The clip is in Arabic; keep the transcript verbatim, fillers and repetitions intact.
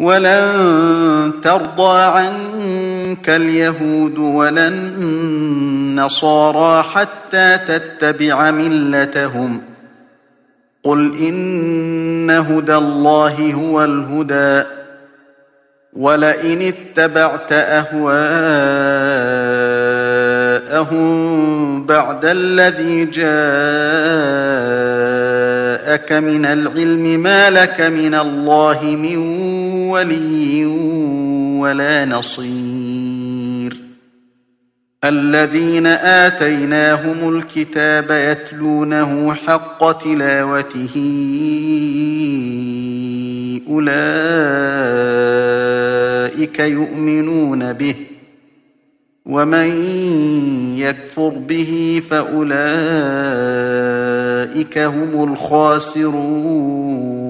ولن ترضى عنك اليهود ولا النصارى حتى تتبع ملتهم قل إن هدى الله هو الهدى ولئن اتبعت أهواءهم بعد الذي جاءك من العلم ما لك من الله من ولي ولا نصير الذين آتيناهم الكتاب يتلونه حق تلاوته أولئك يؤمنون به ومن يكفر به فأولئك هم الخاسرون